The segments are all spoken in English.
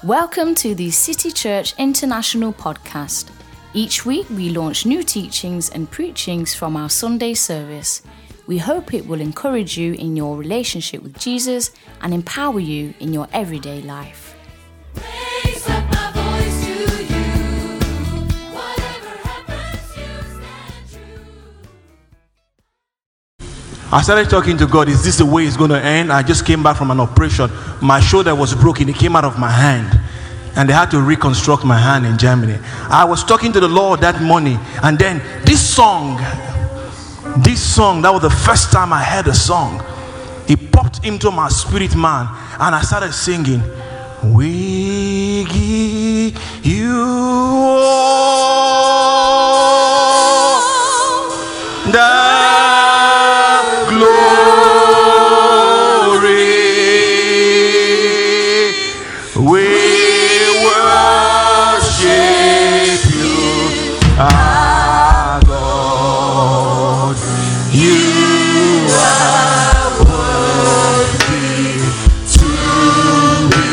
Welcome to the City Church International podcast. Each week we launch new teachings and preachings from our Sunday service. We hope it will encourage you in your relationship with Jesus and empower you in your everyday life. I started talking to God, is this the way it's going to end? I just came back from an operation. My shoulder was broken. It came out of my hand. And they had to reconstruct my hand in Germany. I was talking to the Lord that morning. And then this song, that was the first time I heard a song. It popped into my spirit, man. And I started singing, we give you all the glory, we worship you, our God. You are worthy to be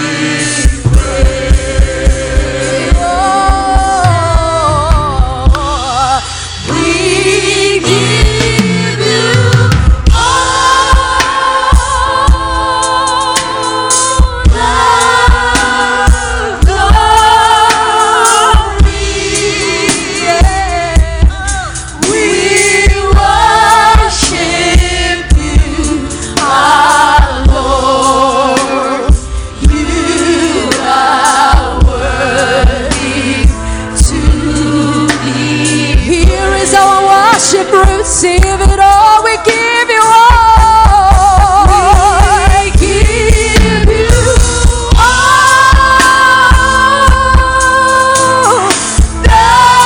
praised. We give you receive it all, we give you all. We give you all the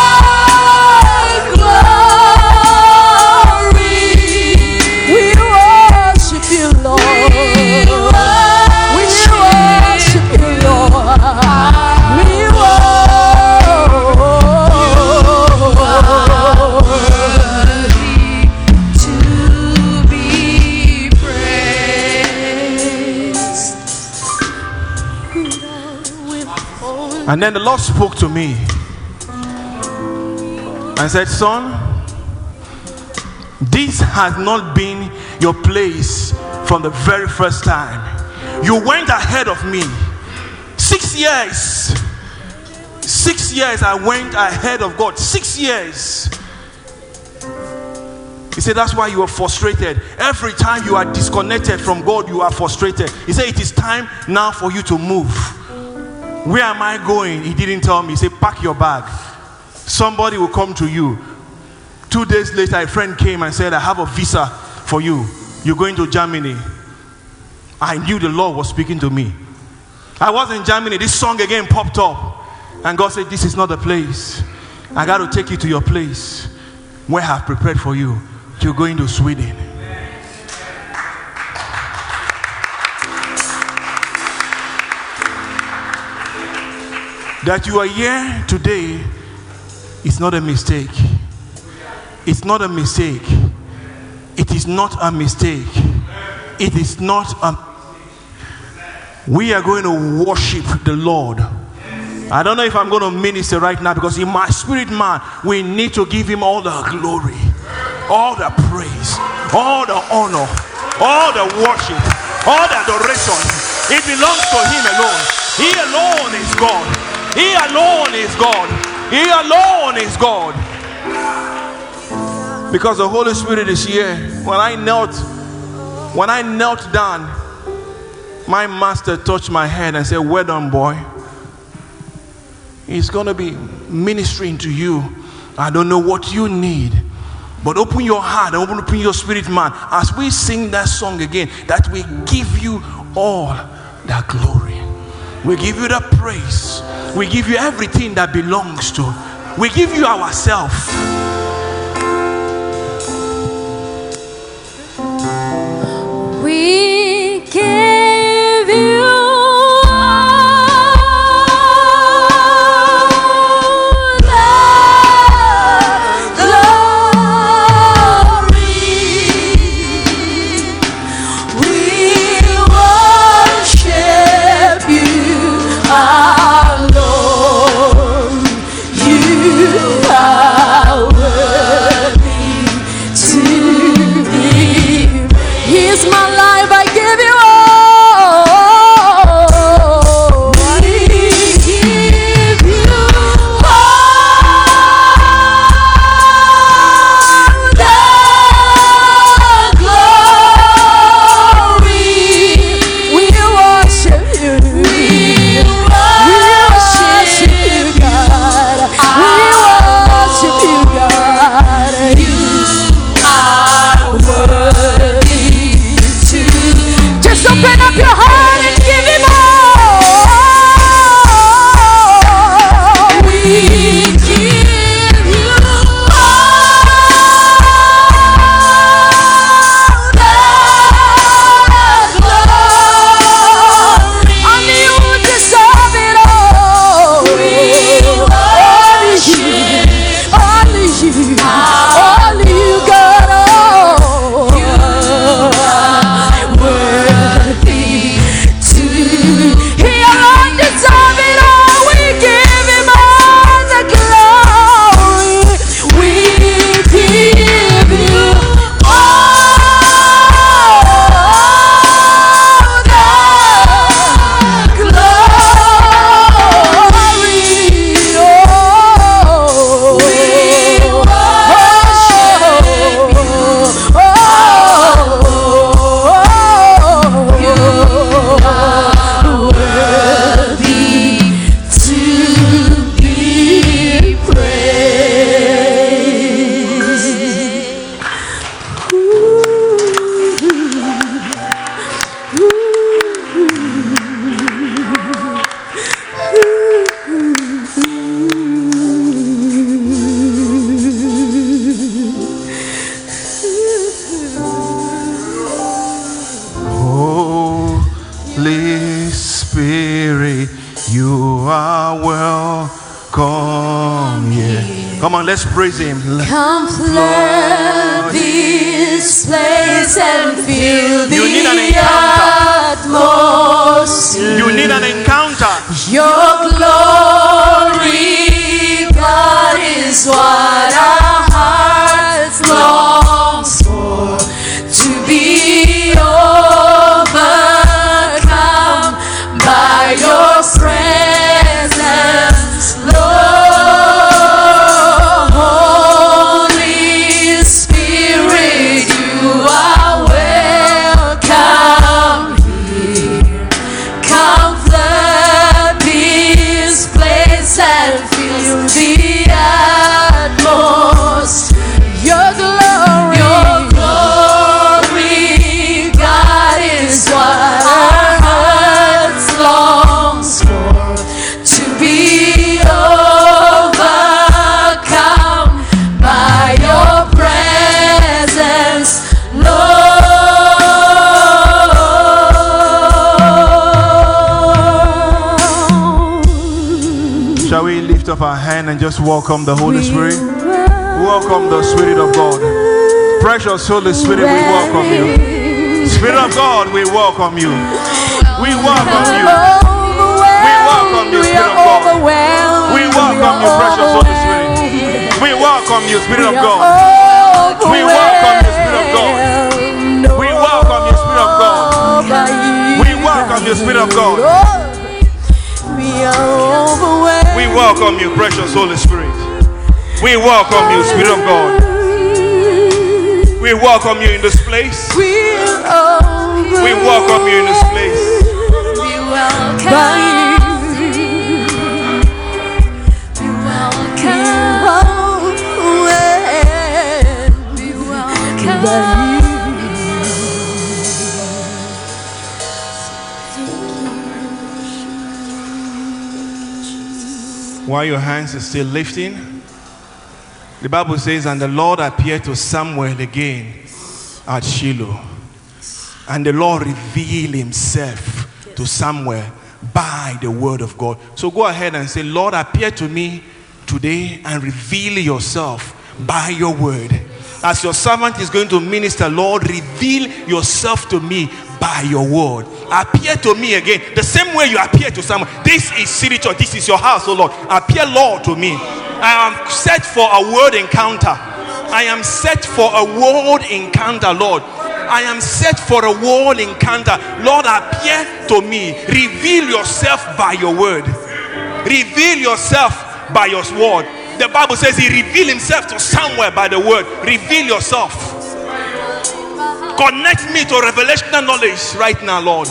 glory. We worship you, Lord. We worship you, Lord. We And then the Lord spoke to me and said, son, this has not been your place from the very first time. You went ahead of me. 6 years. 6 years I went ahead of God. 6 years. He said, that's why you are frustrated. Every time you are disconnected from God, you are frustrated. He said, it is time now for you to move. Where am I going? He didn't tell me. He said, pack your bag. Somebody will come to you. 2 days later, a friend came and said, I have a visa for you. You're going to Germany. I knew the Lord was speaking to me. I was in Germany. This song again popped up. And God said, this is not the place. I got to take you to your place where I have prepared for you. You're going to Sweden. That you are here today is not a mistake. It's not a mistake. It is not a mistake. It is not a... We are going to worship the Lord. I don't know if I'm going to minister right now, because in my spirit, man, we need to give him all the glory, all the praise, all the honor, all the worship, all the adoration. It belongs to him alone. He alone is God. He alone is God. He alone is God. Because the Holy Spirit is here. When I knelt down, my master touched my head and said, well done, boy. He's going to be ministering to you. I don't know what you need, but open your heart and open your spirit, man, as we sing that song again, that we give you all the glory. We give you the praise. We give you everything that belongs to. We give you ourselves. We give you all the glory. We worship you. on, let's praise him. Come flood this place and fill You need an the encounter. atmosphere. You need an encounter. Your glory, God, is what our hearts long for. To be overcome by your presence, Lord. Holy Spirit, you are welcome here. Come flood this place and fill the atmosphere. Your glory, God, is what our hearts longs for. To be overcome by your presence, Lord. Shall we lift up our hand and just welcome the Holy Spirit? Welcome the Spirit of God. Precious Holy Spirit, we welcome you. Spirit of God, we welcome you. We welcome you. We welcome you, Spirit of God. We welcome you, precious Holy Spirit. We welcome you, Spirit of God. We welcome you, Spirit of God. We welcome you, Spirit of God. We welcome you, Spirit of God. We welcome you, precious Holy Spirit. We welcome you, Spirit of God. We welcome you in this place. We welcome you in this place. While your hands are still lifting, the Bible says, and the Lord appeared to Samuel again at Shiloh. And the Lord revealed himself to Samuel by the word of God. So go ahead and say, Lord, appear to me today and reveal yourself by your word. As your servant is going to minister, Lord, reveal yourself to me by your word. Appear to me again, the same way you appear to Samuel. This is City Church. This is your house, oh Lord. Appear, Lord, to me. I am set for a word encounter. I am set for a word encounter, Lord. I am set for a word encounter. Lord, appear to me. Reveal yourself by your word. Reveal yourself by your word. The Bible says he revealed himself to Samuel by the word. Reveal yourself. Connect me to revelational knowledge right now, Lord.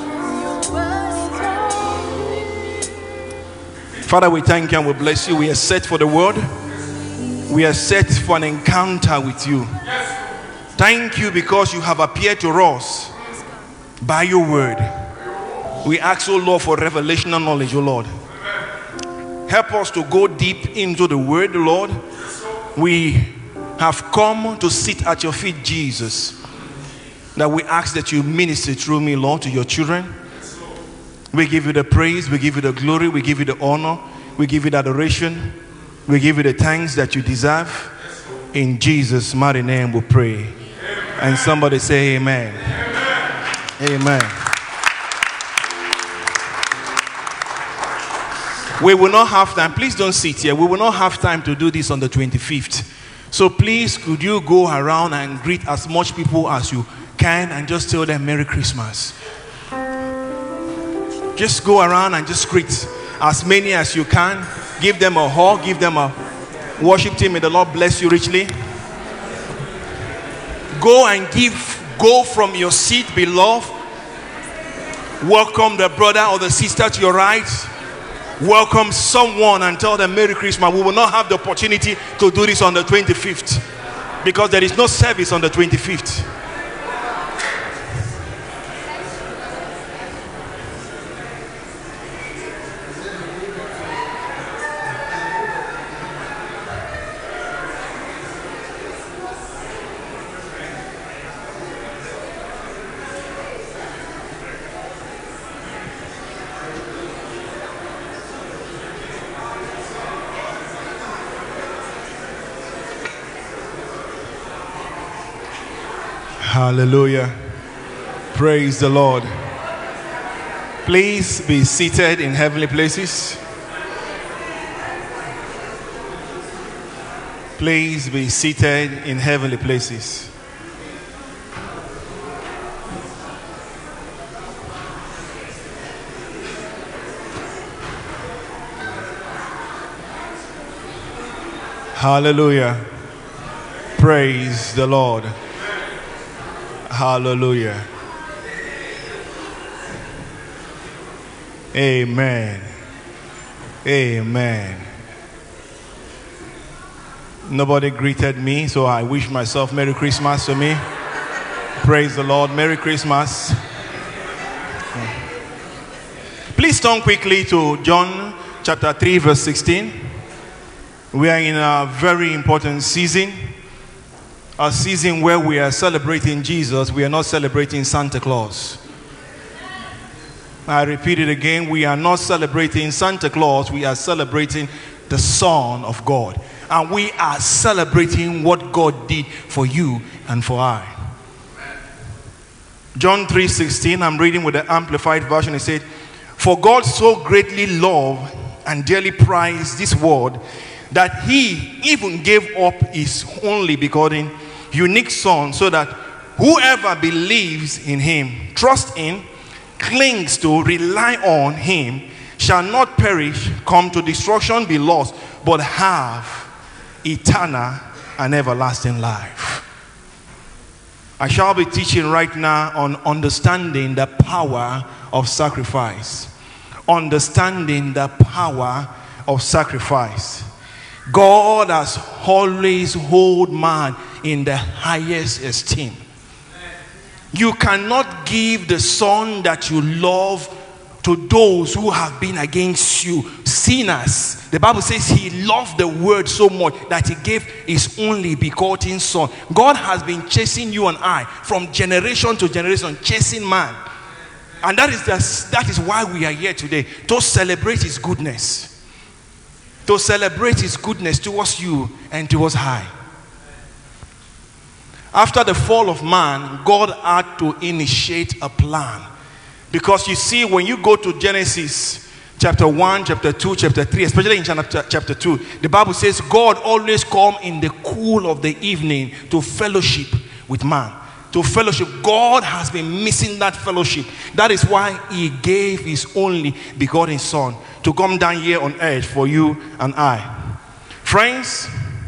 Father, we thank you and we bless you. We are set for the word. We are set for an encounter with you. Thank you because you have appeared to us by your word. We ask, oh Lord, for revelational knowledge, oh Lord. Help us to go deep into the word, Lord. We have come to sit at your feet, Jesus. That we ask that you minister through me, Lord, to your children. We give you the praise, we give you the glory, we give you the honor, we give you the adoration, we give you the thanks that you deserve. In Jesus' mighty name we pray. And somebody say amen. Amen. We will not have time. Please don't sit here. We will not have time to do this on the 25th. So please, could you go around and greet as much people as you can and just tell them Merry Christmas. Just go around and just greet as many as you can. Give them a hug. Give them a worship team. May the Lord bless you richly. Go and go from your seat, beloved. Welcome the brother or the sister to your right. Welcome someone and tell them Merry Christmas. We will not have the opportunity to do this on the 25th because there is no service on the 25th. Hallelujah. Praise the Lord. Please be seated in heavenly places. Please be seated in heavenly places. Hallelujah. Praise the Lord. Hallelujah. Amen. Amen. Nobody greeted me, so I wish myself Merry Christmas to me. Praise the Lord. Merry Christmas. Please turn quickly to John chapter 3 verse 16. We are in a very important season. A season where we are celebrating Jesus. We are not celebrating Santa Claus. I repeat it again. We are not celebrating Santa Claus. We are celebrating the Son of God. And we are celebrating what God did for you and for I. John 3:16, I'm reading with the Amplified Version. It said, "For God so greatly loved and dearly prized this world that he even gave up his only begotten unique Son, so that whoever believes in him, trusts in, clings to, rely on him, shall not perish, come to destruction, be lost, but have eternal and everlasting life." I shall be teaching right now on understanding the power of sacrifice. Understanding the power of sacrifice. God has always held man in the highest esteem. You cannot give the Son that you love to those who have been against you, sinners. The Bible says he loved the word so much that he gave his only begotten Son. God has been chasing you and I from generation to generation, chasing man. And that is why we are here today, to celebrate his goodness. To celebrate his goodness towards you and towards I. After the fall of man, God had to initiate a plan. Because you see, when you go to Genesis chapter 1, chapter 2, chapter 3, especially in chapter 2, the Bible says God always come in the cool of the evening to fellowship with man. To fellowship. God has been missing that fellowship. That is why he gave his only begotten Son to come down here on earth for you and I. Friends,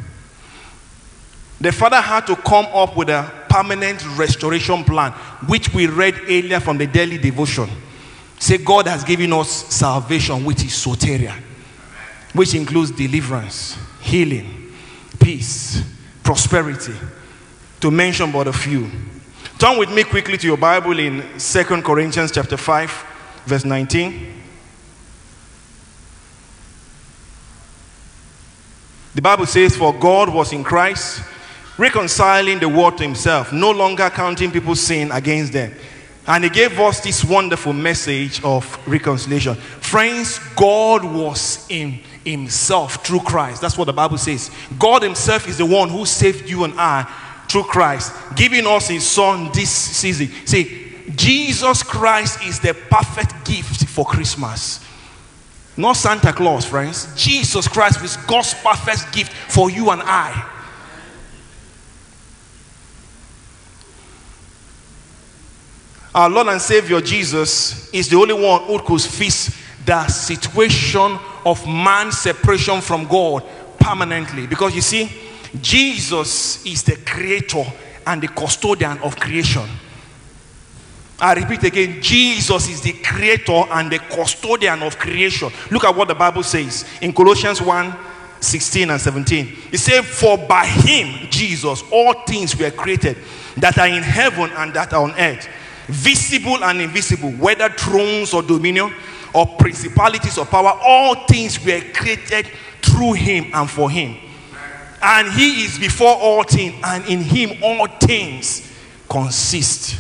the Father had to come up with a permanent restoration plan, which we read earlier from the daily devotion. Say God has given us salvation, which is soteria, which includes deliverance, healing, peace, prosperity, to mention but a few. Turn with me quickly to your Bible in 2 Corinthians chapter 5, verse 19. The Bible says, "For God was in Christ, reconciling the world to himself, no longer counting people's sin against them. And he gave us this wonderful message of reconciliation." Friends, God was in himself through Christ. That's what the Bible says. God himself is the one who saved you and I through Christ, giving us his Son this season. See, Jesus Christ is the perfect gift for Christmas. Not Santa Claus, friends. Jesus Christ is God's perfect gift for you and I. Our Lord and Savior Jesus is the only one who could fix the situation of man's separation from God permanently. Because you see, Jesus is the creator and the custodian of creation. I repeat again, Jesus is the creator and the custodian of creation. Look at what the Bible says in Colossians 1:16 and 17. It says, "For by him, Jesus, all things were created that are in heaven and that are on earth, visible and invisible, whether thrones or dominion or principalities or power, all things were created through him and for him. And he is before all things, and in him all things consist."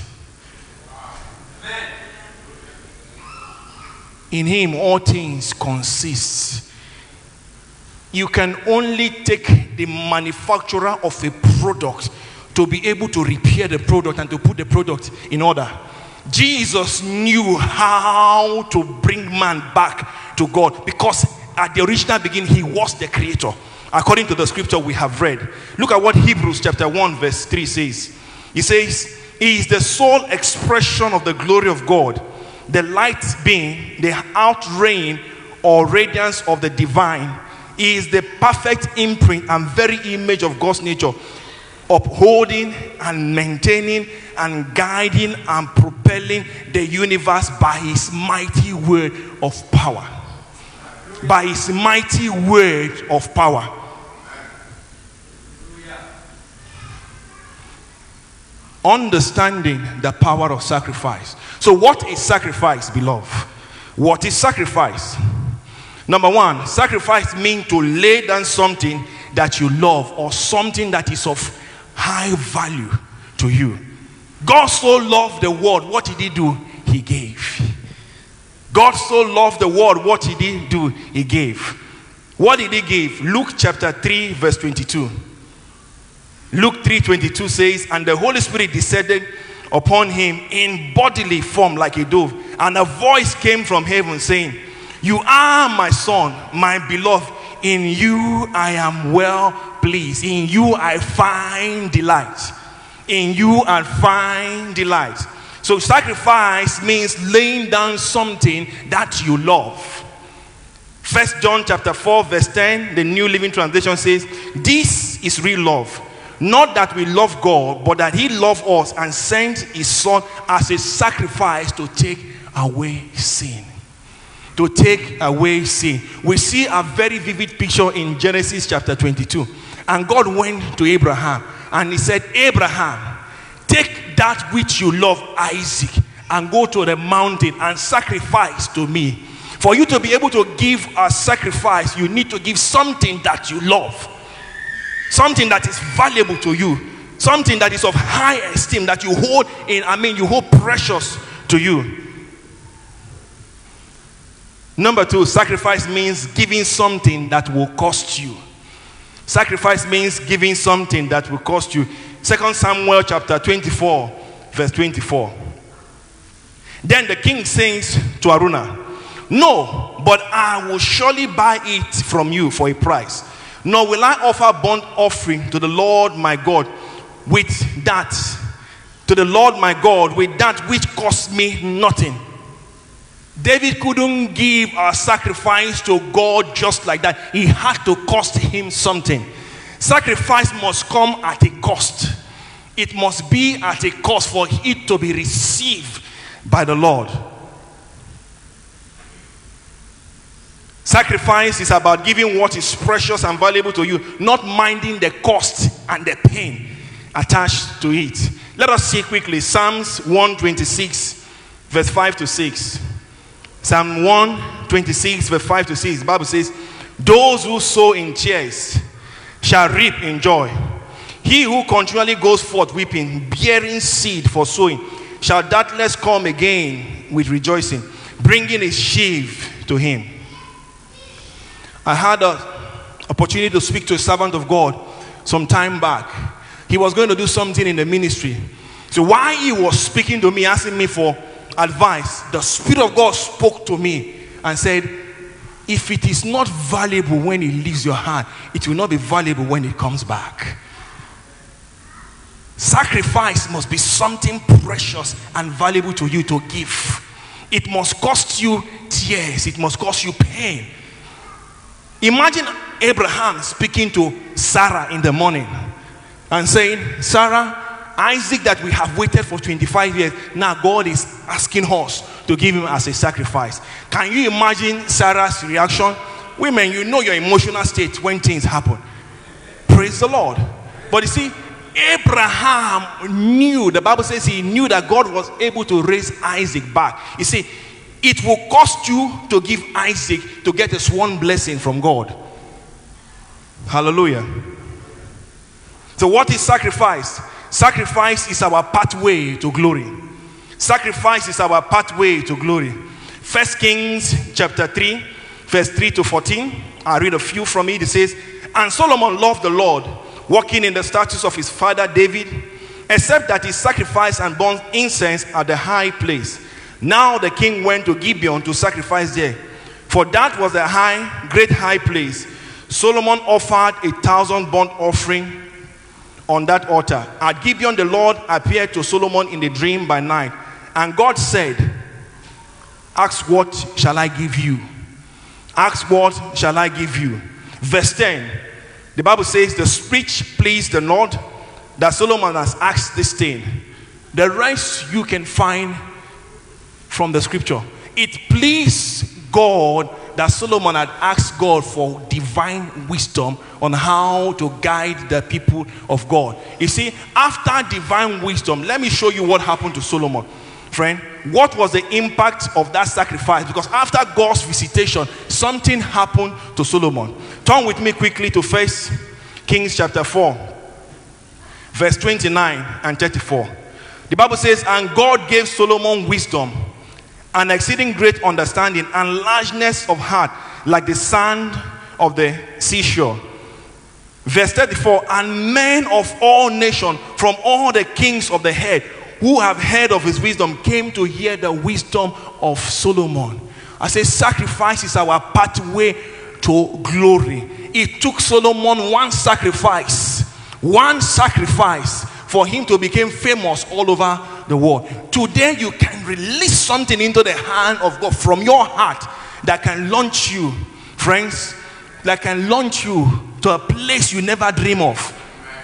In him all things consist. You can only take the manufacturer of a product to be able to repair the product and to put the product in order. Jesus knew how to bring man back to God, because at the original beginning, he was the creator. According to the scripture we have read. Look at what Hebrews chapter 1 verse 3 says. He says, he is the sole expression of the glory of God, the light being the outreign or radiance of the divine. He is the perfect imprint and very image of God's nature, upholding and maintaining and guiding and propelling the universe by his mighty word of power. By his mighty word of power. Understanding the power of sacrifice. So what is sacrifice, beloved? What is sacrifice? Number one, sacrifice means to lay down something that you love or something that is of high value to you. God so loved the world, what did he do? He gave. God so loved the world, what did he do? He gave. What did he give? Luke chapter 3 verse 22. Luke 3:22 says, and the Holy Spirit descended upon him in bodily form like a dove, and a voice came from heaven saying, you are my son, my beloved. In you I am well pleased. In you I find delight. In you I find delight. So sacrifice means laying down something that you love. 1 John chapter 4 verse 10, the New Living Translation says, this is real love. Not that we love God, but that he loved us and sent his son as a sacrifice to take away sin. To take away sin. We see a very vivid picture in Genesis chapter 22. And God went to Abraham and he said, Abraham, take that which you love, Isaac, and go to the mountain and sacrifice to me. For you to be able to give a sacrifice, you need to give something that you love. Something that is valuable to you. Something that is of high esteem, that you hold you hold precious to you. Number two, sacrifice means giving something that will cost you. Sacrifice means giving something that will cost you. 2 Samuel chapter 24, verse 24. Then the king says to Araunah, no, but I will surely buy it from you for a price. Nor will I offer burnt offering to the Lord my God with that which cost me nothing. David couldn't give a sacrifice to God just like that. He had to cost him something. Sacrifice must come at a cost. It must be at a cost for it to be received by the Lord. Sacrifice is about giving what is precious and valuable to you, not minding the cost and the pain attached to it. Let us see quickly Psalms 126 verse 5 to 6. Psalm 126 verse 5 to 6. The Bible says, those who sow in tears shall reap in joy. He who continually goes forth weeping, bearing seed for sowing, shall doubtless come again with rejoicing, bringing his sheaf to him. I had an opportunity to speak to a servant of God some time back. He was going to do something in the ministry. So while he was speaking to me, asking me for advice, the Spirit of God spoke to me and said, if it is not valuable when it leaves your hand, it will not be valuable when it comes back. Sacrifice must be something precious and valuable to you to give. It must cost you tears. It must cost you pain. Imagine Abraham speaking to Sarah in the morning and saying, Sarah, Isaac that we have waited for 25 years, now God is asking us to give him as a sacrifice. Can you imagine Sarah's reaction? Women, you know your emotional state when things happen. Praise the Lord. But you see, Abraham knew, the Bible says he knew that God was able to raise Isaac back. You see, it will cost you to give Isaac to get a sworn blessing from God. Hallelujah. So what is sacrifice? Sacrifice is our pathway to glory. Sacrifice is our pathway to glory. 1 Kings chapter 3 verse 3 to 14. I'll read a few from it. It says, and Solomon loved the Lord walking in the statutes of his father David, except that he sacrificed and burned incense at the high place. Now the king went to Gibeon to sacrifice there, for that was a great high place. Solomon offered 1,000 burnt offering on that altar. At Gibeon the Lord appeared to Solomon in a dream by night, and God said, ask what shall I give you? Ask what shall I give you? Verse 10, the Bible says, the speech pleased the Lord, that Solomon has asked this thing. The rest you can find from the scripture. It pleased God that Solomon had asked God for divine wisdom on how to guide the people of God. You see, after divine wisdom, let me show you what happened to Solomon. Friend, what was the impact of that sacrifice? Because after God's visitation, something happened to Solomon. Turn with me quickly to 1 Kings chapter 4, verse 29 and 34. The Bible says, and God gave Solomon wisdom, and exceeding great understanding, and largeness of heart, like the sand of the seashore. Verse 34, and men of all nations, from all the kings of the earth, who have heard of his wisdom, came to hear the wisdom of Solomon. I say sacrifice is our pathway to glory. It took Solomon one sacrifice for him to become famous all over the world. Today you can release something into the hand of God from your heart that can launch you, friends, that can launch you to a place you never dream of.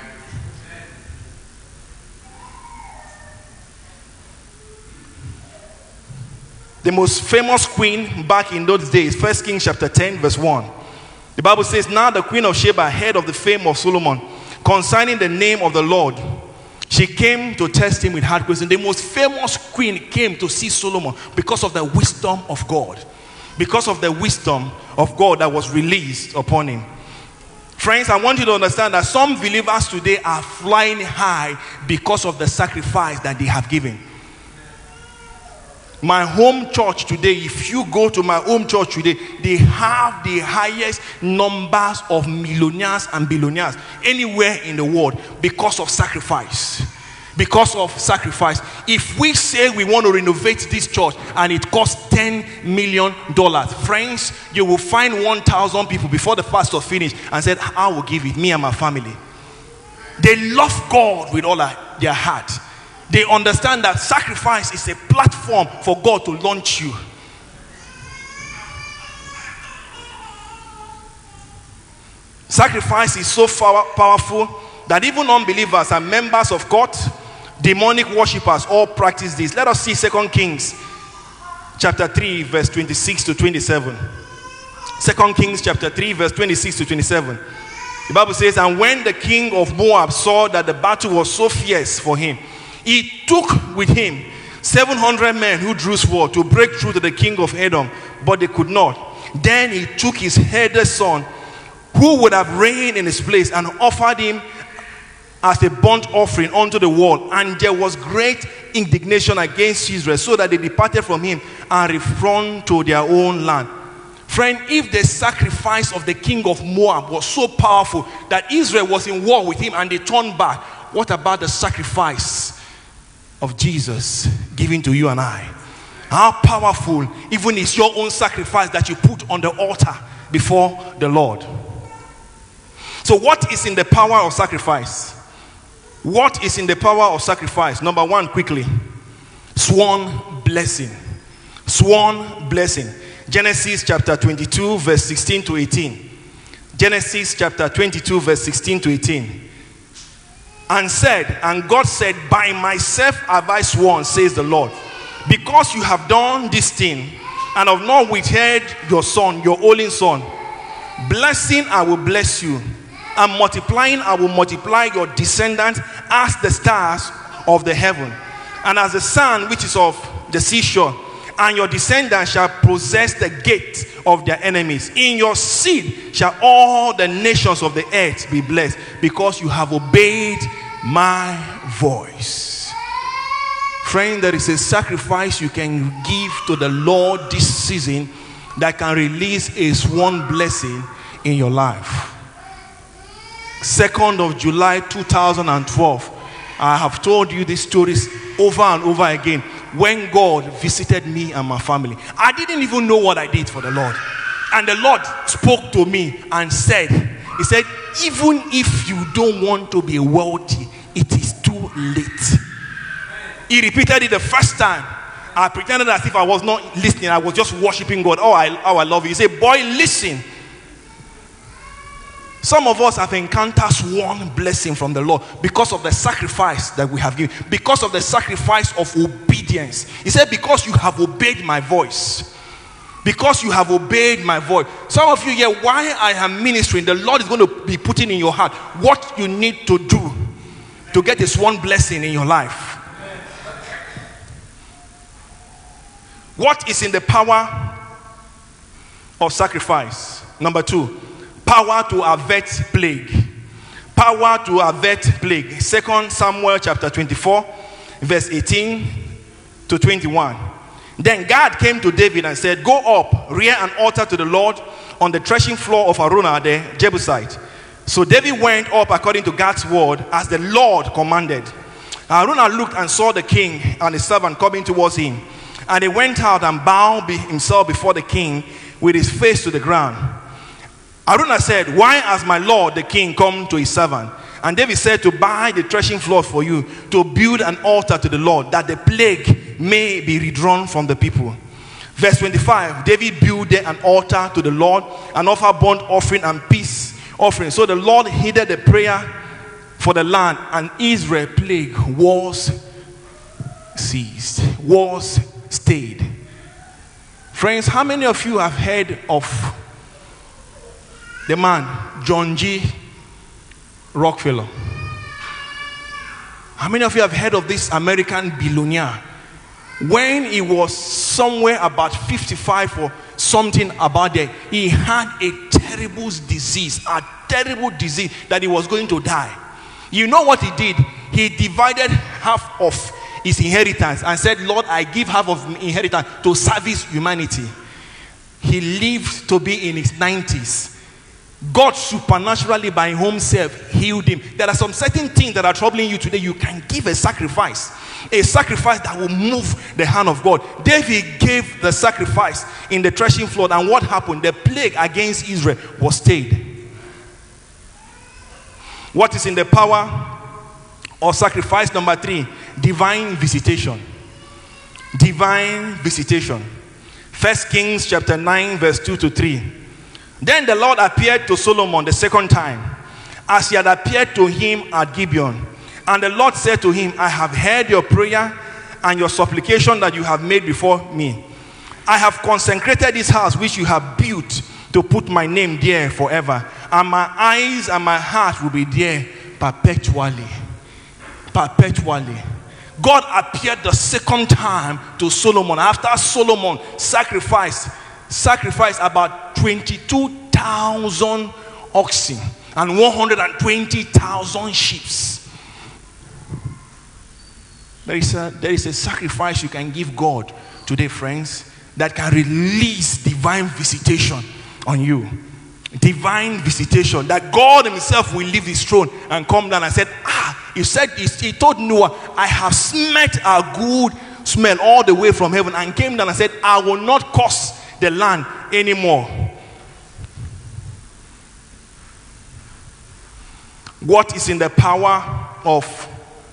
The most famous queen back in those days, 1 Kings chapter 10 verse 1. The Bible says, now the queen of Sheba heard of the fame of Solomon concerning the name of the Lord. She came to test him with hard questions. The most famous queen came to see Solomon because of the wisdom of God. Because of the wisdom of God that was released upon him. Friends, I want you to understand that some believers today are flying high because of the sacrifice that they have given. My home church today, if you go to my home church today, they have the highest numbers of millionaires and billionaires anywhere in the world because of sacrifice. Because of sacrifice. If we say we want to renovate this church and it costs $10 million, friends, you will find 1,000 people before the pastor finished and said, I will give it, me and my family. They love God with all their heart. They understand that sacrifice is a platform for God to launch you. Sacrifice is so powerful that even unbelievers and members of God, demonic worshippers, all practice this. Let us see 2 Kings chapter 3 verse 26 to 27. 2 Kings chapter 3 verse 26 to 27. The Bible says, and when the king of Moab saw that the battle was so fierce for him, he took with him 700 men who drew sword to break through to the king of Edom, but they could not. Then he took his eldest son, who would have reigned in his place, and offered him as a burnt offering unto the wall. And there was great indignation against Israel, so that they departed from him and returned to their own land. Friend, if the sacrifice of the king of Moab was so powerful that Israel was in war with him and they turned back, what about the sacrifice of Jesus given to you and I? How powerful even is your own sacrifice that you put on the altar before the Lord. So what is in the power of sacrifice? What is in the power of sacrifice? Number one, quickly, sworn blessing. Sworn blessing. Genesis chapter 22 verse 16 to 18. Genesis chapter 22 verse 16 to 18. And God said, by myself have I sworn, says the Lord, because you have done this thing, and have not withheld your son, your only son. Blessing I will bless you, and multiplying I will multiply your descendants as the stars of the heaven, and as the sand which is of the seashore. And your descendants shall possess the gate of their enemies. In your seed shall all the nations of the earth be blessed, because you have obeyed my voice. Friend, there is a sacrifice you can give to the Lord this season that can release a sworn blessing in your life. 2nd of July 2012. I have told you these stories over and over again. When God visited me and my family, I didn't even know what I did for the Lord. And the Lord spoke to me and said, He said, even if you don't want to be wealthy, it is too late. He repeated it the first time. I pretended as if I was not listening. I was just worshiping God. Oh, I love you. He said, boy, listen. Some of us have encountered one blessing from the Lord because of the sacrifice that we have given, because of the sacrifice of obedience. He said, because you have obeyed my voice. Because you have obeyed my voice. Some of you here, while I am ministering, the Lord is going to be putting in your heart what you need to do to get this one blessing in your life. What is in the power of sacrifice? Number 2, power to avert plague. Power to avert plague. 2 Samuel chapter 24, verse 18 to 21. Then God came to David and said, go up, rear an altar to the Lord on the threshing floor of Araunah the Jebusite. So David went up according to God's word as the Lord commanded. Araunah looked and saw the king and his servant coming towards him. And he went out and bowed himself before the king with his face to the ground. Araunah said, why has my lord the king come to his servant? And David said, to buy the threshing floor for you, to build an altar to the Lord, that the plague may be withdrawn from the people. Verse 25, David built there an altar to the Lord and offered burnt offering and peace offering. So the Lord heeded the prayer for the land, and Israel plague was ceased, was stayed. Friends, how many of you have heard of the man John G. Rockefeller? How many of you have heard of this American billionaire? When he was somewhere about 55 or something about there, he had a terrible disease that he was going to die. You know what he did? He divided half of his inheritance and said, Lord, I give half of my inheritance to service humanity. He lived to be in his 90s. God supernaturally by himself healed him. There are some certain things that are troubling you today. You can give a sacrifice that will move the hand of God. David gave the sacrifice in the threshing floor, and what happened? The plague against Israel was stayed. What is in the power of sacrifice? Number 3, divine visitation. Divine visitation. 1 Kings chapter 9 verse 2 to 3. Then the Lord appeared to Solomon the second time, as he had appeared to him at Gibeon. And the Lord said to him, I have heard your prayer and your supplication that you have made before me. I have consecrated this house which you have built to put my name there forever. And my eyes and my heart will be there perpetually. Perpetually. God appeared the second time to Solomon after Solomon sacrificed about 22,000 oxen and 120,000 sheep. There is a sacrifice you can give God today, friends, that can release divine visitation on you. Divine visitation, that God himself will leave his throne and come down and said, he told Noah, I have smelt a good smell all the way from heaven, and came down and said, I will not curse the land anymore. What is in the power of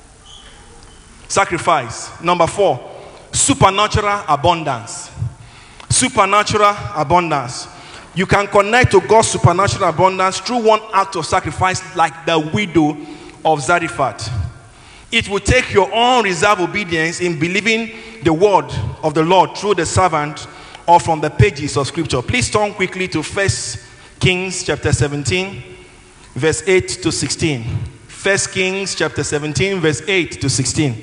sacrifice? Number 4, supernatural abundance. Supernatural abundance. You can connect to God's supernatural abundance through one act of sacrifice, like the widow of Zarephath. It will take your own reserved obedience in believing the word of the Lord through the servant or from the pages of scripture. Please turn quickly to 1 Kings chapter 17 verse 8 to 16. 1 Kings chapter 17 verse 8 to 16.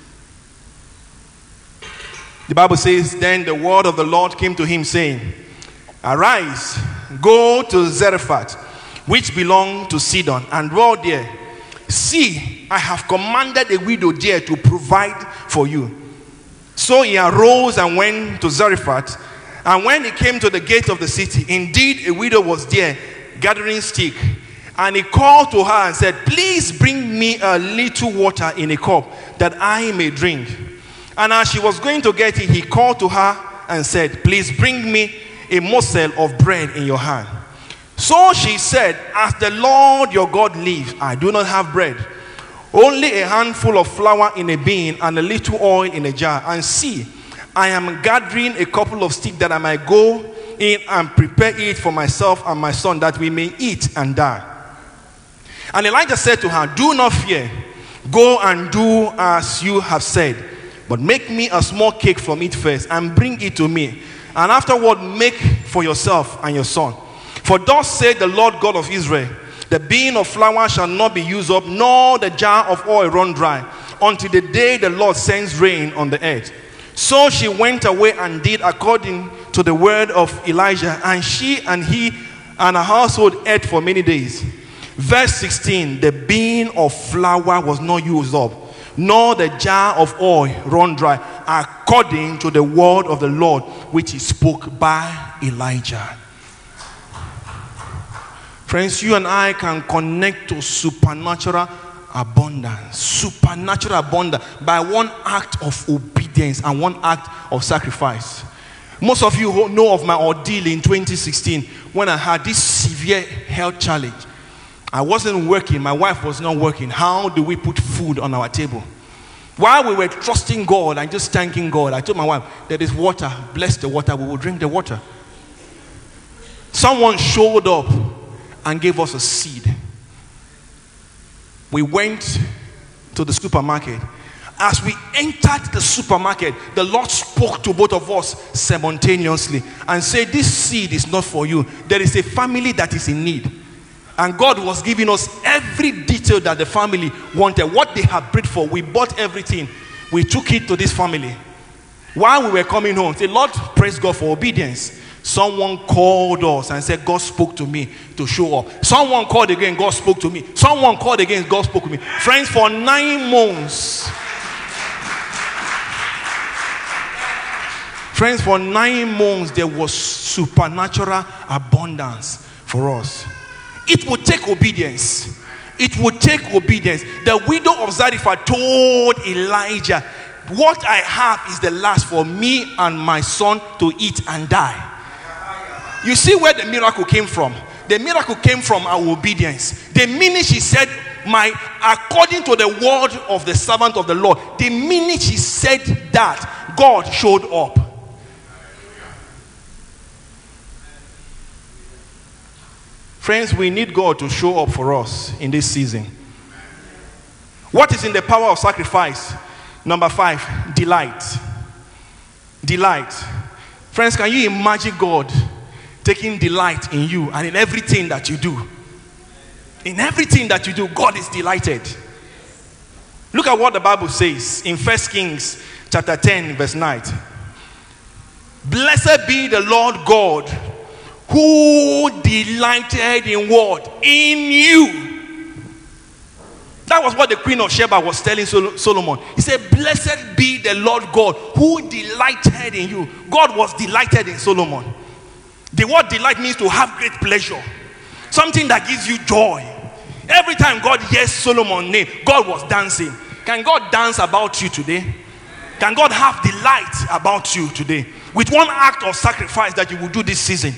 The Bible says, then the word of the Lord came to him, saying, arise, go to Zarephath, which belonged to Sidon, and dwell there. See, I have commanded a widow there to provide for you. So he arose and went to Zarephath. And when he came to the gate of the city, indeed a widow was there gathering stick. And he called to her and said, please bring me a little water in a cup that I may drink. And as she was going to get it, he called to her and said, please bring me a morsel of bread in your hand. So she said, as the Lord your God lives, I do not have bread, only a handful of flour in a bin and a little oil in a jar. And see, I am gathering a couple of sticks that I might go in and prepare it for myself and my son, that we may eat and die. And Elijah said to her, do not fear. Go and do as you have said. But make me a small cake from it first and bring it to me. And afterward make for yourself and your son. For thus said the Lord God of Israel, the bin of flour shall not be used up, nor the jar of oil run dry, until the day the Lord sends rain on the earth. So she went away and did according to the word of Elijah. And she and he and her household ate for many days. Verse 16, the bin of flour was not used up, nor the jar of oil run dry, according to the word of the Lord, which he spoke by Elijah. Friends, you and I can connect to supernatural abundance. Supernatural abundance by one act of obedience and one act of sacrifice. Most of you know of my ordeal in 2016 when I had this severe health challenge. I wasn't working, my wife was not working. How do we put food on our table? While we were trusting God and just thanking God, I told my wife, there is water, bless the water, we will drink the water. Someone showed up and gave us a seed. We went to the supermarket. As we entered the supermarket, the Lord spoke to both of us simultaneously and said, this seed is not for you. There is a family that is in need. And God was giving us every detail that the family wanted, what they had prayed for. We bought everything. We took it to this family. While we were coming home, say, Lord, praise God for obedience. Someone called us and said, God spoke to me to show up. Someone called again, God spoke to me. Someone called again, God spoke to me. Friends, for 9 months. Friends, for 9 months, there was supernatural abundance for us. It would take obedience. It would take obedience. The widow of Zarephath told Elijah, what I have is the last for me and my son to eat and die. You see where the miracle came from? The miracle came from our obedience. The minute she said, according to the word of the servant of the Lord, the minute she said that, God showed up. Friends, we need God to show up for us in this season. What is in the power of sacrifice? Number 5, delight. Delight. Friends, can you imagine God taking delight in you and in everything that you do? In everything that you do, God is delighted. Look at what the Bible says in 1 Kings chapter 10, verse 9. Blessed be the Lord God, who delighted in what? In you. That was what the Queen of Sheba was telling Solomon. He said, blessed be the Lord God, who delighted in you. God was delighted in Solomon. The word delight means to have great pleasure. Something that gives you joy. Every time God hears Solomon's name, God was dancing. Can God dance about you today? Can God have delight about you today? With one act of sacrifice that you will do this season.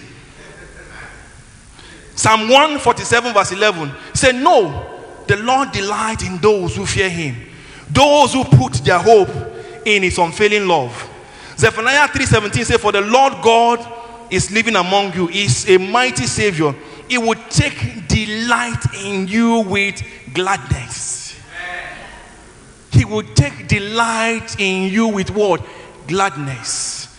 Psalm 147 verse 11 said, no, the Lord delights in those who fear him, those who put their hope in his unfailing love. Zephaniah 3:17 said, for the Lord God is living among you, is a mighty Savior. He will take delight in you with gladness. He will take delight in you with what? Gladness.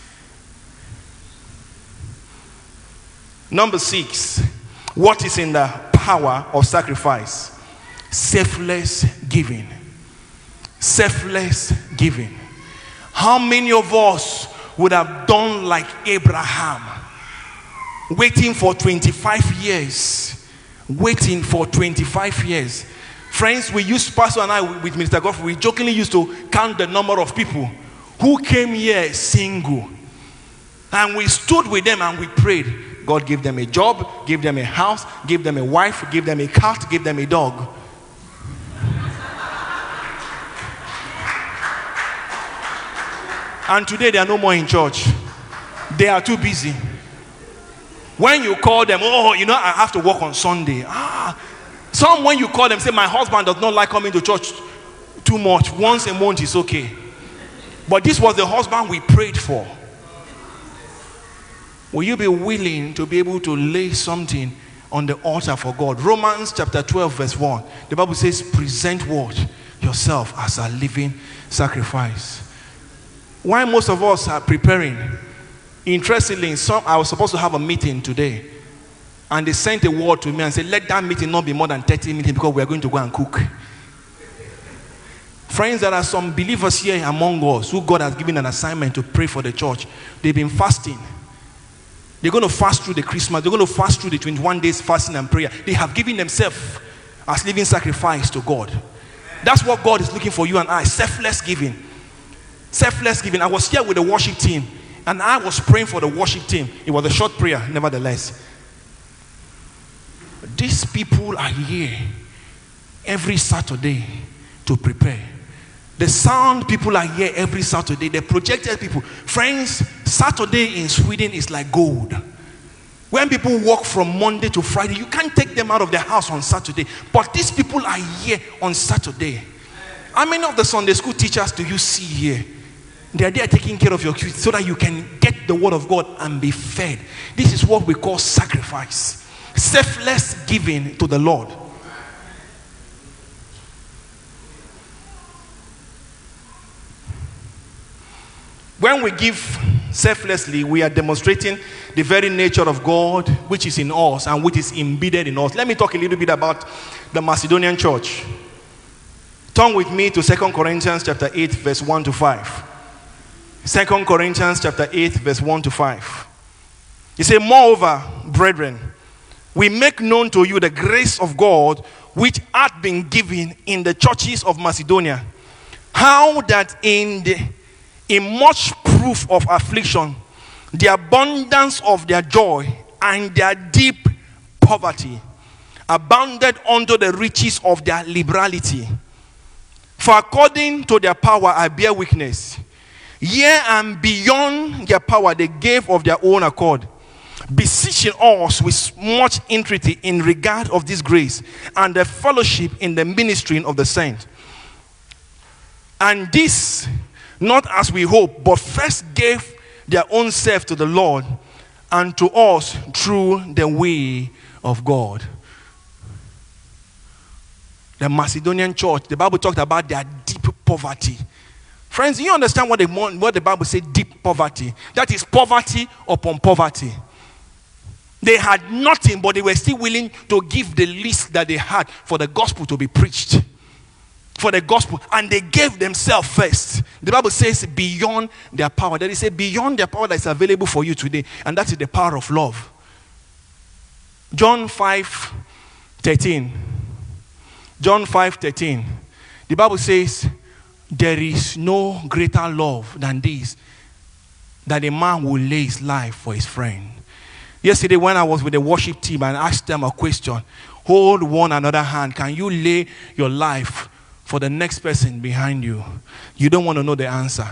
Number 6. What is in the power of sacrifice? Selfless giving. Selfless giving. How many of us would have done like Abraham, waiting for 25 years? Waiting for 25 years. Friends, we used, Pastor and I with Mr. Godfrey, we jokingly used to count the number of people who came here single. And we stood with them and we prayed. God gave them a job, gave them a house, gave them a wife, gave them a cat, gave them a dog. And today they are no more in church. They are too busy. When you call them, oh, you know, I have to work on Sunday. Some when you call them say, my husband does not like coming to church too much. Once a month is okay. But this was the husband we prayed for. Will you be willing to be able to lay something on the altar for God? Romans chapter 12 verse 1. The Bible says, present what? Yourself as a living sacrifice. Why most of us are preparing? Interestingly, I was supposed to have a meeting today. And they sent a word to me and said, let that meeting not be more than 30 minutes because we are going to go and cook. Friends, there are some believers here among us who God has given an assignment to pray for the church. They've been fasting. They're going to fast through the Christmas. They're going to fast through the 21 days fasting and prayer. They have given themselves as living sacrifice to God. That's what God is looking for you and I. Selfless giving. Selfless giving. I was here with the worship team and I was praying for the worship team. It was a short prayer, nevertheless. These people are here every Saturday to prepare. The sound people are here every Saturday. The projected people. Friends, Saturday in Sweden is like gold. When people work from Monday to Friday, you can't take them out of their house on Saturday. But these people are here on Saturday. How many of the Sunday school teachers do you see here? They are there taking care of your kids so that you can get the word of God and be fed. This is what we call sacrifice. Selfless giving to the Lord. When we give selflessly, we are demonstrating the very nature of God which is in us and which is embedded in us. Let me talk a little bit about the Macedonian church. Turn with me to 2 Corinthians chapter 8 verse 1 to 5. 2 Corinthians chapter 8 verse 1 to 5. He said, moreover, brethren, we make known to you the grace of God which hath been given in the churches of Macedonia, how that in much proof of affliction, the abundance of their joy and their deep poverty abounded unto the riches of their liberality. For according to their power I bear witness, yea, and beyond their power they gave of their own accord, beseeching us with much entreaty in regard of this grace and the fellowship in the ministering of the saints. And this not as we hope, but first gave their own self to the Lord and to us through the way of God. The Macedonian church, the Bible talked about their deep poverty. Friends, do you understand what the Bible says, deep poverty? That is poverty upon poverty. They had nothing, but they were still willing to give the least that they had for the gospel to be preached. For the gospel, and they gave themselves first. The Bible says beyond their power. That is beyond their power that is available for you today, and that is the power of love. John 5:13. John 5:13. The Bible says there is no greater love than this, that a man will lay his life for his friend. Yesterday when I was with the worship team and asked them a question, hold one another hand. Can you lay your life for the next person behind you? You don't want to know the answer.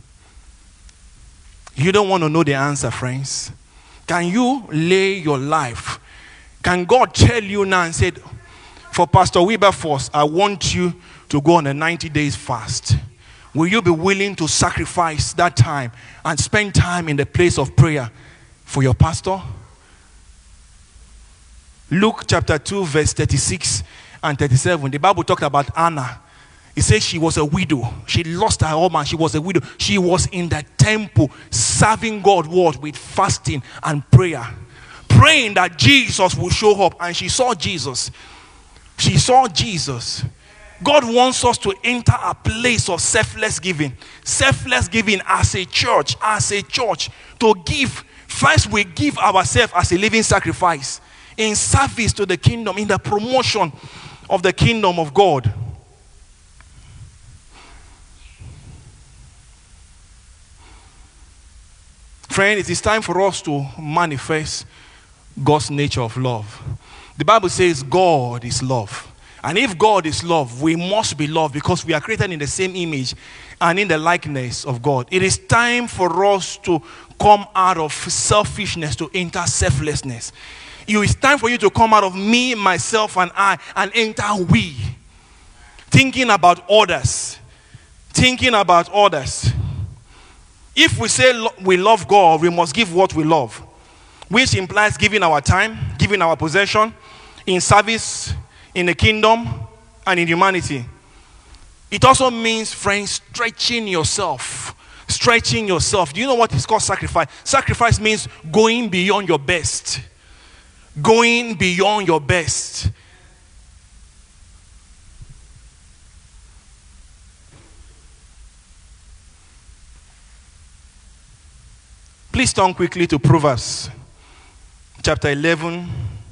You don't want to know the answer, friends. Can you lay your life? Can God tell you now and say, for Pastor Wilberforce, I want you to go on a 90 days fast. Will you be willing to sacrifice that time and spend time in the place of prayer for your pastor? Luke chapter 2 verse 36 and 37. The Bible talked about Anna. It says she was a widow. She lost her husband. She was a widow. She was in the temple serving God with fasting and prayer. Praying that Jesus will show up. And she saw Jesus. She saw Jesus. God wants us to enter a place of selfless giving. Selfless giving as a church. To give. First we give ourselves as a living sacrifice. In service to the kingdom. In the promotion of the kingdom of God. Friend, it is time for us to manifest God's nature of love. The Bible says God is love. And if God is love, we must be loved because we are created in the same image and in the likeness of God. It is time for us to come out of selfishness to enter selflessness. It is time for you to come out of me, myself, and I and enter we. Thinking about others. Thinking about others. If we say we love God, we must give what we love, which implies giving our time, giving our possession, in service, in the kingdom, and in humanity. It also means, friends, stretching yourself. Stretching yourself. Do you know what is called sacrifice? Sacrifice means going beyond your best. Going beyond your best. Please turn quickly to Proverbs chapter 11,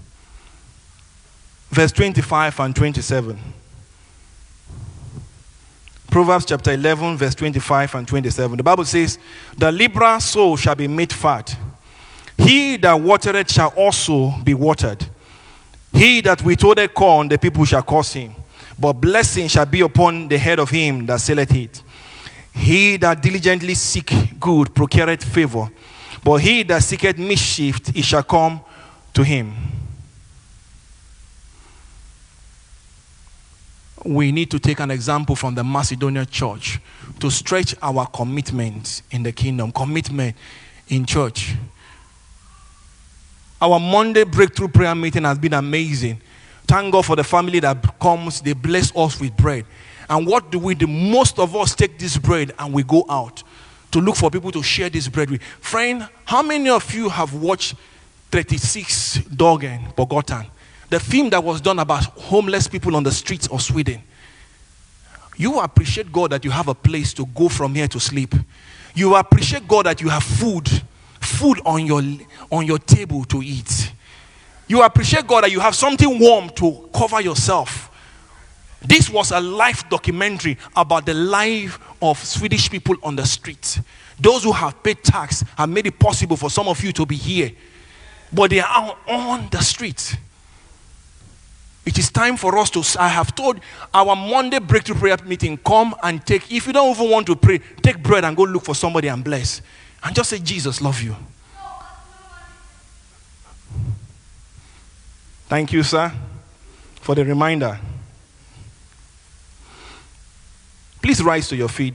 verse 25 and 27. Proverbs chapter 11, verse 25 and 27. The Bible says, the liberal soul shall be made fat. He that watereth shall also be watered. He that withholdeth corn, the people shall curse him. But blessing shall be upon the head of him that selleth it. He that diligently seek good procureth favor. But he that seeketh mischief, it shall come to him. We need to take an example from the Macedonian church to stretch our commitment in the kingdom, commitment in church. Our Monday breakthrough prayer meeting has been amazing. Thank God for the family that comes, they bless us with bread. And what do we do? Most of us take this bread and we go out to look for people to share this bread with. Friend, how many of you have watched 36 Dagen Bogotan? The film that was done about homeless people on the streets of Sweden. You appreciate God that you have a place to go from here to sleep. You appreciate God that you have food on your table to eat. You appreciate God that you have something warm to cover yourself. This was a life documentary about the life of Swedish people on the street. Those who have paid tax have made it possible for some of you to be here. But they are on the street. It is time for us to, I have told our Monday breakthrough prayer meeting, come and take, if you don't even want to pray, take bread and go look for somebody and bless. And just say, Jesus love you. Thank you, sir, for the reminder. Please rise to your feet.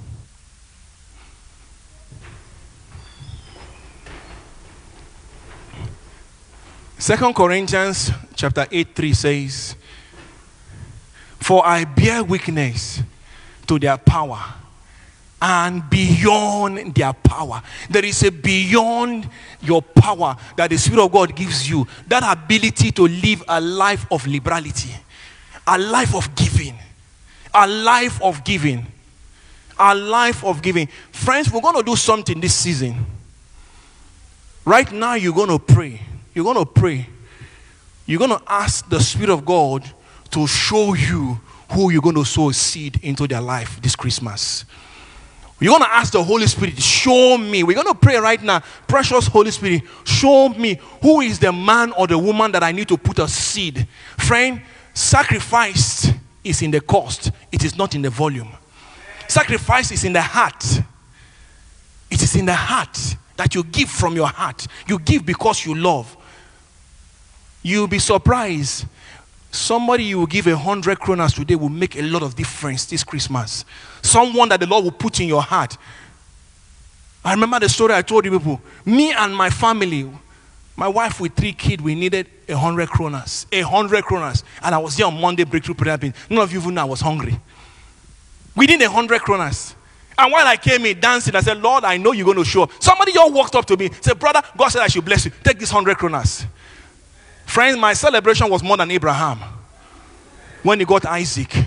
Second Corinthians chapter 8:3 says, for I bear witness to their power and beyond their power. There is a beyond your power that the Spirit of God gives you. That ability to live a life of liberality. A life of giving. A life of giving. A life of giving. Friends, we're going to do something this season. Right now, you're going to pray. You're going to pray. You're going to ask the Spirit of God to show you who you're going to sow a seed into their life this Christmas. You're going to ask the Holy Spirit, show me. We're going to pray right now. Precious Holy Spirit, show me who is the man or the woman that I need to put a seed. Friend, sacrifice is in the cost. It is not in the volume. Sacrifice is in the heart. It is in the heart that you give from your heart. You give because you love. You'll be surprised. Somebody you will give 100 kronas today will make a lot of difference this Christmas. Someone that the Lord will put in your heart. I remember the story I told you people. Me and my family, my wife with 3 kids, we needed 100 kronas. 100 kronas. And I was here on Monday breakthrough prayer. None of you even know I was hungry. We did 100 kronas. And while I came in dancing, I said, Lord, I know you're going to show up. Somebody just walked up to me, said, brother, God said I should bless you. Take this 100 kronas. Friends, my celebration was more than Abraham when he got Isaac.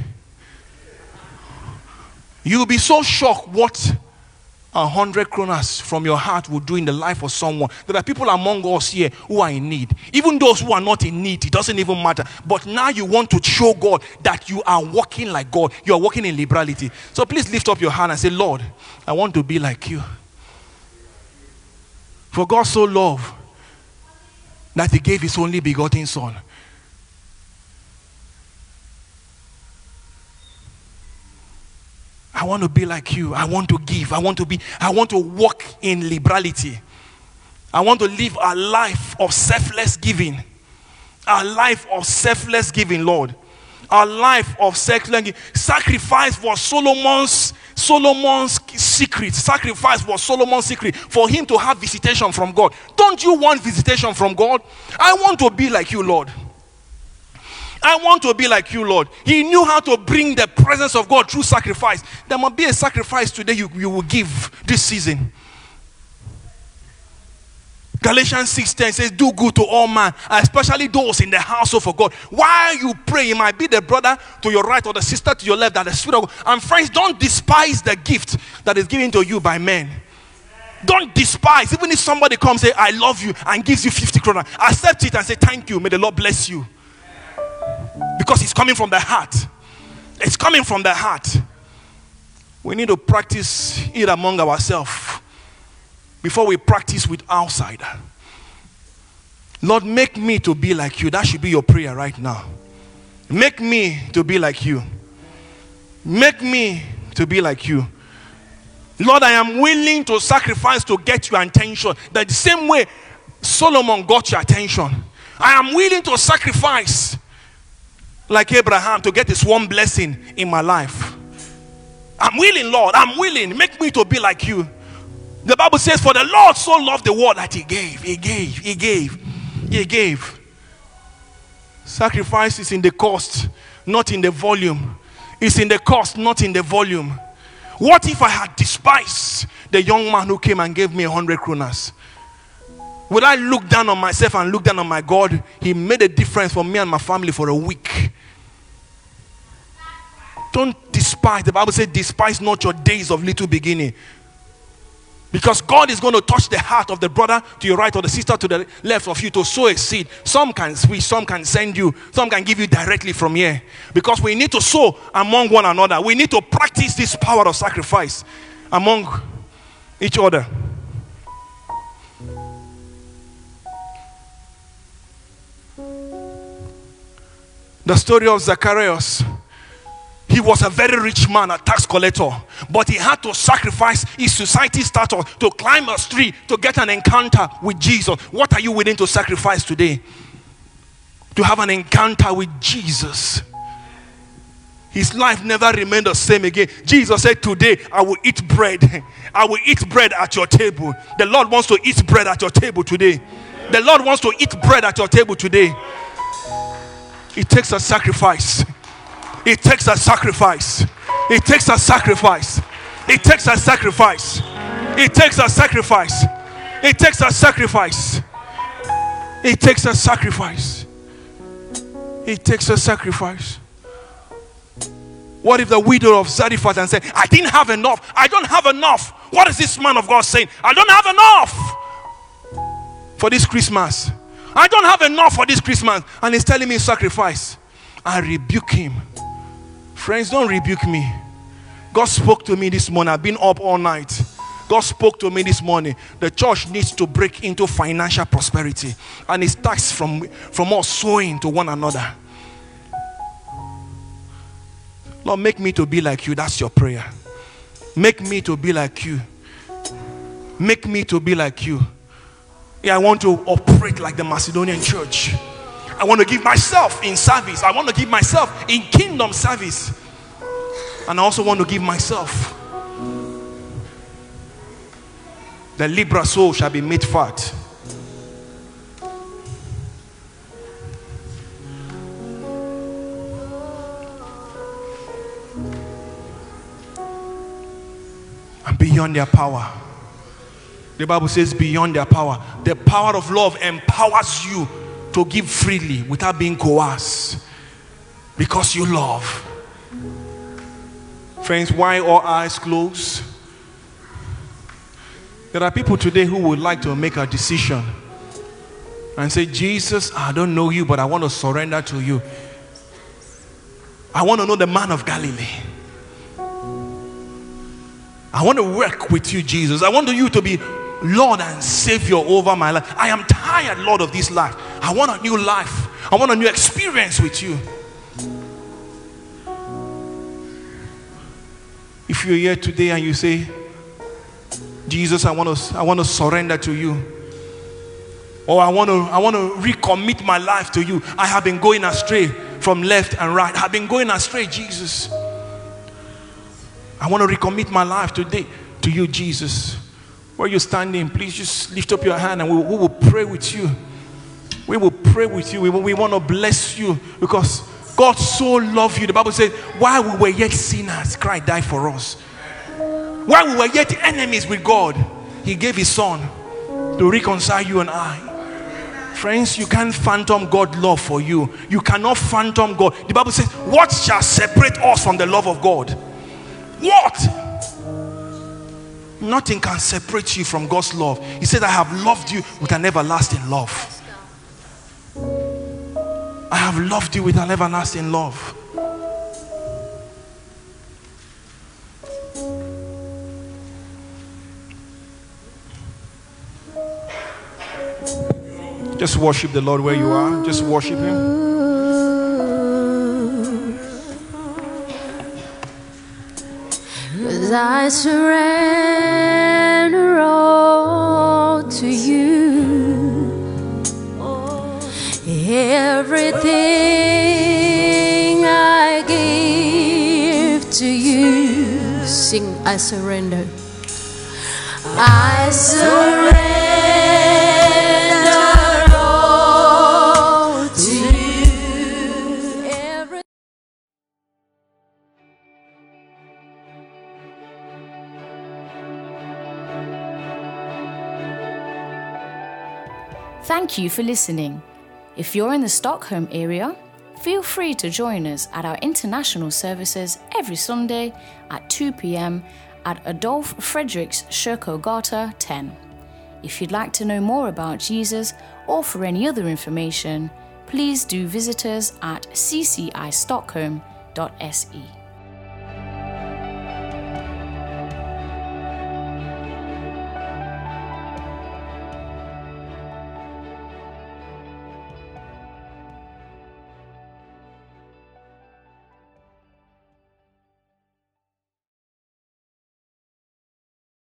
You'll be so shocked what 100 kronas from your heart will do in the life of someone. There are people among us here who are in need. Even those who are not in need, it doesn't even matter. But now you want to show God that you are walking like God. You are walking in liberality. So please lift up your hand and say, Lord, I want to be like you. For God so loved that he gave his only begotten son. I want to be like you. I want to give. I want to walk in liberality. I want to live a life of selfless giving. A life of selfless giving, Lord. A life of selfless giving. Sacrifice was Solomon's secret. Sacrifice was Solomon's secret for him to have visitation from God. Don't you want visitation from God? I want to be like you, Lord. I want to be like you, Lord. He knew how to bring the presence of God through sacrifice. There must be a sacrifice today you will give this season. Galatians 6:10 says, do good to all men, especially those in the household of God. While you pray, it might be the brother to your right or the sister to your left, that the Spirit of God. And friends, don't despise the gift that is given to you by men. Don't despise. Even if somebody comes and say, I love you, and gives you 50 kroner, accept it and say, thank you. May the Lord bless you. Because it's coming from the heart. It's coming from the heart. We need to practice it among ourselves before we practice with outsider. Lord, make me to be like you. That should be your prayer right now. Make me to be like you. Make me to be like you. Lord, I am willing to sacrifice to get your attention. That the same way Solomon got your attention. I am willing to sacrifice like Abraham to get this one blessing in my life. I'm willing, Lord. I'm willing. Make me to be like you. The Bible says, for the Lord so loved the world that he gave. He gave. He gave. He gave. Sacrifice is in the cost, not in the volume. It's in the cost, not in the volume. What if I had despised the young man who came and gave me 100 kronas? Would I look down on myself and look down on my God? He made a difference for me and my family for a week. Don't despise. The Bible says, despise not your days of little beginning. Because God is going to touch the heart of the brother to your right or the sister to the left of you to sow a seed. Some can switch, some can send you, some can give you directly from here. Because we need to sow among one another. We need to practice this power of sacrifice among each other. The story of Zacharias. He was a very rich man, a tax collector, but he had to sacrifice his society status to climb a tree to get an encounter with Jesus. What are you willing to sacrifice today to have an encounter with Jesus? His life never remained the same again. Jesus said, today I will eat bread. I will eat bread at your table. The Lord wants to eat bread at your table today. The Lord wants to eat bread at your table today. It takes a sacrifice. It takes a sacrifice. It takes a sacrifice. It takes a sacrifice. It takes a sacrifice. It takes a sacrifice. It takes a sacrifice. It takes a sacrifice. What if the widow of Zarephath and said, I didn't have enough. I don't have enough. What is this man of God saying? I don't have enough for this Christmas. I don't have enough for this Christmas. And he's telling me sacrifice. I rebuke him. Friends, don't rebuke me. God spoke to me this morning. I've been up all night. God spoke to me this morning. The church needs to break into financial prosperity. And it starts from us sowing to one another. Lord, make me to be like you. That's your prayer. Make me to be like you. Make me to be like you. Yeah, I want to operate like the Macedonian church. I want to give myself in service. I want to give myself in kingdom service. And I also want to give myself. The Libra soul shall be made fat. And beyond their power. The Bible says beyond their power. The power of love empowers you to give freely without being coerced. Because you love. Friends, why all eyes closed? There are people today who would like to make a decision and say, Jesus, I don't know you, but I want to surrender to you. I want to know the man of Galilee. I want to work with you, Jesus. I want you to be Lord and Savior over my life. I am tired, Lord, of this life. I want a new life. I want a new experience with you. If you're here today and you say, Jesus, I want to surrender to you. Or I want to recommit my life to you. I have been going astray from left and right. I have been going astray, Jesus. I want to recommit my life today to you, Jesus. Where you're standing, please just lift up your hand and we will pray with you. We will pray with you. We want to bless you because God so loved you. The Bible says, while we were yet sinners, Christ died for us. While we were yet enemies with God, He gave His Son to reconcile you and I. Friends, you can't phantom God's love for you. You cannot phantom God. The Bible says, what shall separate us from the love of God? What? Nothing can separate you from God's love. He said, I have loved you with an everlasting love. I have loved you with an everlasting love. Just worship the Lord where you are. Just worship Him. 'Cause I surrender all to you. Everything I give to you. Sing, I surrender. I surrender all to you. Thank you for listening. If you're in the Stockholm area, feel free to join us at our international services every Sunday at 2 p.m. at Adolf Fredriks Kyrkogata 10. If you'd like to know more about Jesus or for any other information, please do visit us at ccistockholm.se.